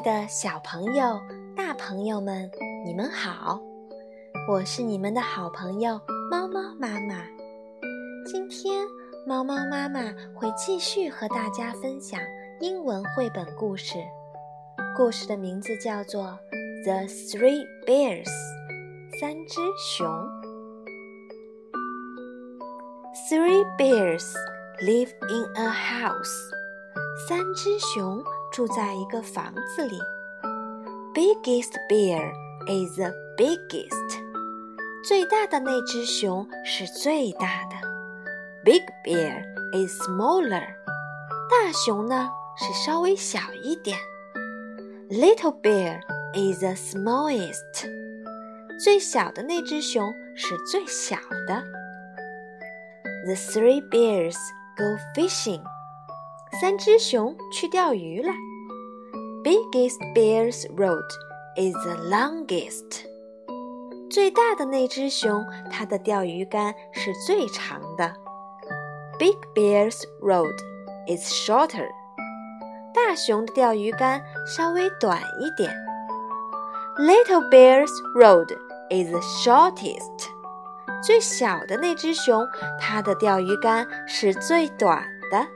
的小朋友、大朋友们，你们好，我是你们的好朋友猫猫妈妈。今天猫猫妈妈会继续和大家分享英文绘本故事，故事的名字叫做 The Three Bears 三只熊。 Three bears live in a house 三只熊住在一个房子里。 Biggest bear is the biggest 最大的那只熊是最大的。 Big bear is smaller 大熊呢是稍微小一点。 Little bear is the smallest 最小的那只熊是最小的。 The three bears go fishing 三只熊去钓鱼了。 Biggest bear's road is the longest 最大的那只熊它的钓鱼竿是最长的。 Big bear's road is shorter 大熊的钓鱼竿稍微短一点。 Little bear's road is the shortest 最小的那只熊它的钓鱼竿是最短的。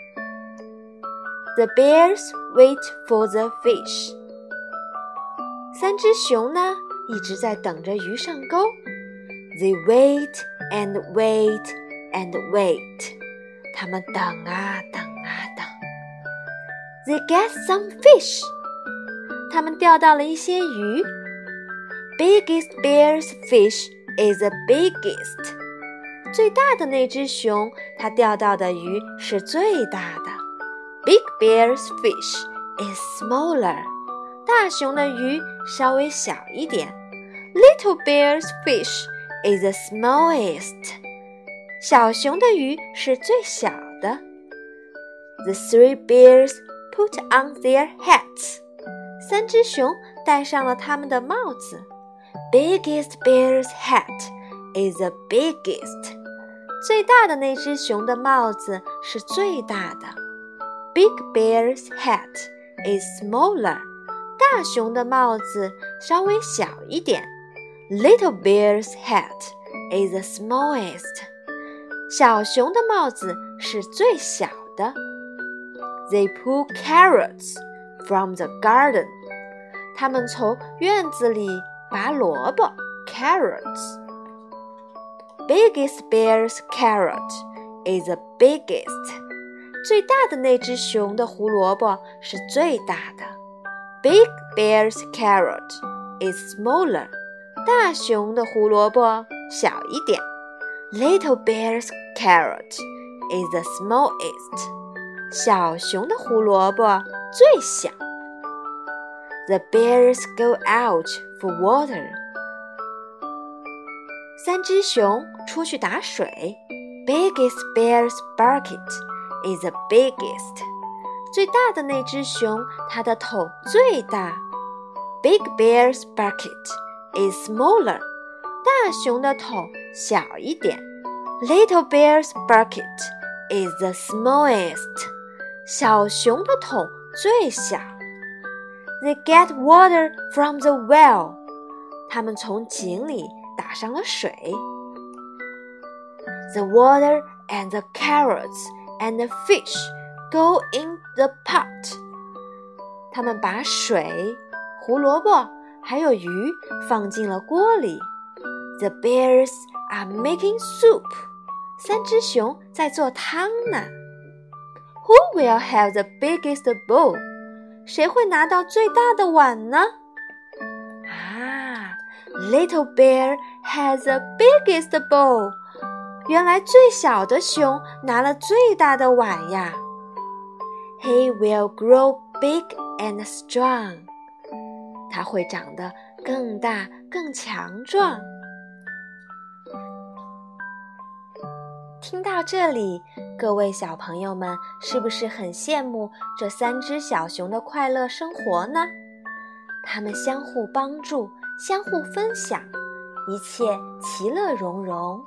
The bears wait for the fish 三只熊呢一直在等着鱼上钩。 They wait and wait and wait 他们等啊等啊等。 They get some fish 他们钓到了一些鱼。 Biggest bear's fish is the biggest 最大的那只熊它钓到的鱼是最大的。 Big bear's fish is smaller 大熊的鱼稍微小一点。 Little bear's fish is the smallest 小熊的鱼是最小的。 The three bears put on their hats 三只熊戴上了他们的帽子。 Biggest bear's hat is the biggest 最大的那只熊的帽子是最大的。 Big bear's hat is smaller 大熊的帽子稍微小一点。 Little bear's hat is the smallest 小熊的帽子是最小的。 They pull carrots from the garden 他们从院子里拔萝卜 carrots。 Biggest bear's carrot is the biggest 最大的那只熊的胡萝卜是最大的。 Big bear's carrot is smaller 大熊的胡萝卜小一点。 Little bear's carrot is the smallest 小熊的胡萝卜最小。 The bears go out for water 三只熊出去打水。 Biggest bear's bucket is the biggest 最大的那只熊它的桶最大。 Big bear's bucket is smaller 大熊的桶小一点。 Little bear's bucket is the smallest 小熊的桶最小。 They get water from the well 他们从井里打上了水。 The water and the carrots and the fish go in the pot 他们把水、胡萝卜还有鱼放进了锅里。 The bears are making soup 三只熊在做汤呢。 Who will have the biggest bowl 谁会拿到最大的碗呢？ Little bear has the biggest bowl 原来最小的熊拿了最大的碗呀。 He will grow big and strong 他会长得更大更强壮。听到这里，各位小朋友们是不是很羡慕这三只小熊的快乐生活呢？他们相互帮助，相互分享，一切其乐融融。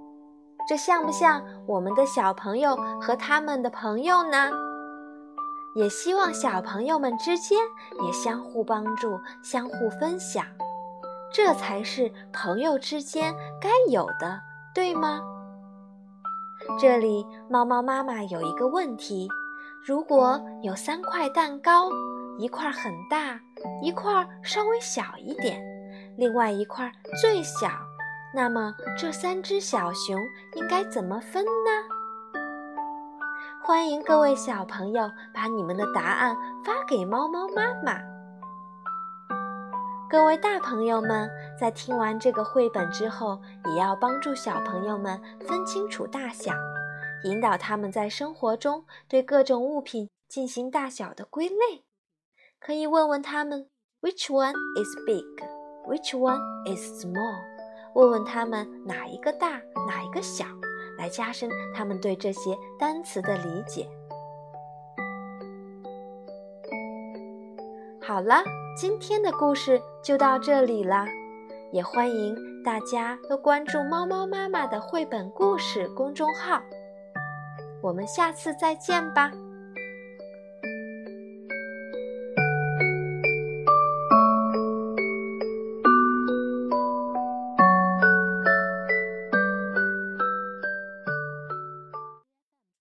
这像不像我们的小朋友和他们的朋友呢？ 也希望小朋友们之间也相互帮助，相互分享，这才是朋友之间该有的，对吗？这里猫猫妈妈有一个问题，如果有3块蛋糕，一块很大，一块稍微小一点，另外一块最小，那么这3只小熊应该怎么分呢？欢迎各位小朋友把你们的答案发给猫猫妈妈。各位大朋友们，在听完这个绘本之后，也要帮助小朋友们分清楚大小，引导他们在生活中对各种物品进行大小的归类。可以问问他们 Which one is big? Which one is small? 问问他们哪一个大，哪一个小，来加深他们对这些单词的理解。好了，今天的故事就到这里了，也欢迎大家都关注猫猫妈妈的绘本故事公众号。我们下次再见吧。